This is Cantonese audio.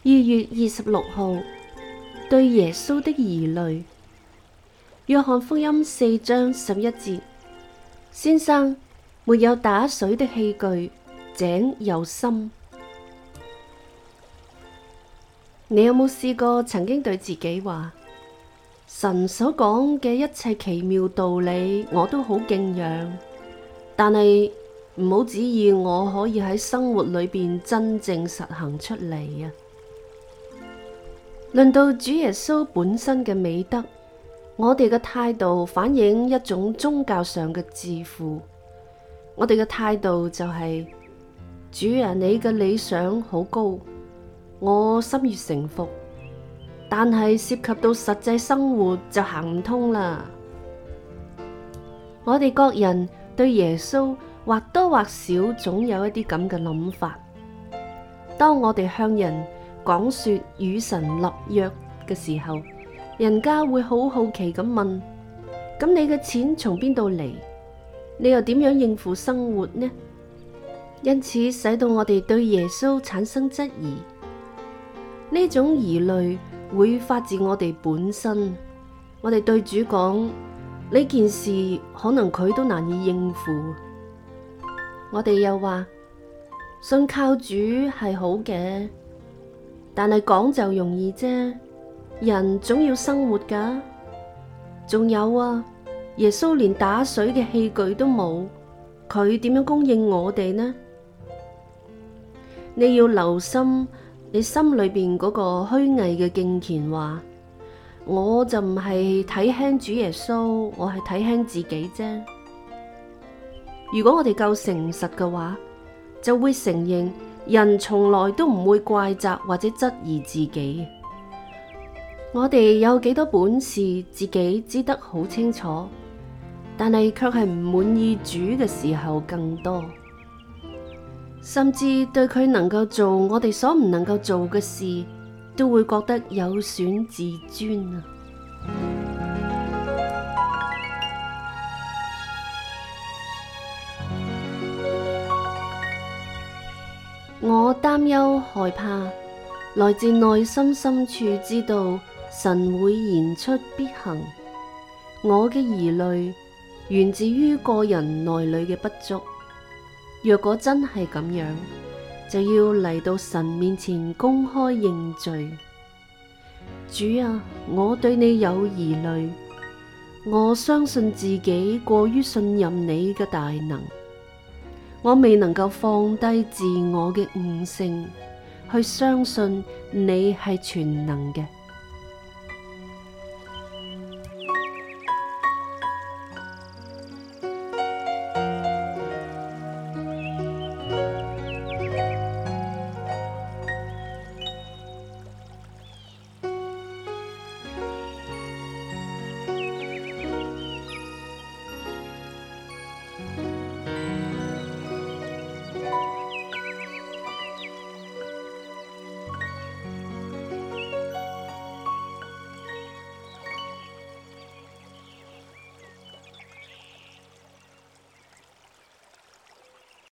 2月26號，對耶穌的疑慮。約翰福音4章11節：先生，沒有打水的器具，井又深。你有冇試過曾經對自己話，神所講嘅一切奇妙道理我都好敬仰，但係唔好指意我可以喺生活裏邊真正實行出嚟啊！論到主耶穌本身嘅美德，我哋嘅態度反映一種宗教上嘅自負。我哋嘅態度就係：主啊，你嘅理想好高，我心悅誠服，但係涉及到實際生活就行唔通啦。我哋各人對耶穌或多或少總有一啲咁嘅諗法。當我哋向人講說與神立約嘅時候，人家會好好奇咁問：咁你嘅錢從邊度嚟？你又點樣應付生活呢？因此使到我哋對耶穌產生質疑。呢種疑慮會發自我哋本身。我哋對主講呢件事，可能佢都難以應付。我哋又話信靠主係好嘅，但係講就容易啫，人總要生活㗎。仲有啊，耶穌連打水嘅器具都冇，佢點樣供應我哋呢？你要留心你心裏邊嗰個虛偽嘅敬虔話，我就唔係睇輕主耶穌，我係睇輕自己啫。如果我哋夠誠實嘅話，就會承認人從來都唔會怪責或者質疑自己。我哋有幾多本事，自己知得好清楚，但係卻係唔滿意主嘅時候更多，甚至對佢能夠做我哋所唔能夠做嘅事，都會覺得有損自尊啊！我擔憂害怕，來自內心深處知道神會言出必行。我嘅疑慮源自於個人內裏嘅不足。若果真係咁樣，就要嚟到神面前公開認罪。主啊，我對你有疑慮，我相信自己過於信任你嘅大能，我未能夠放低自我嘅悟性，去相信你係全能嘅。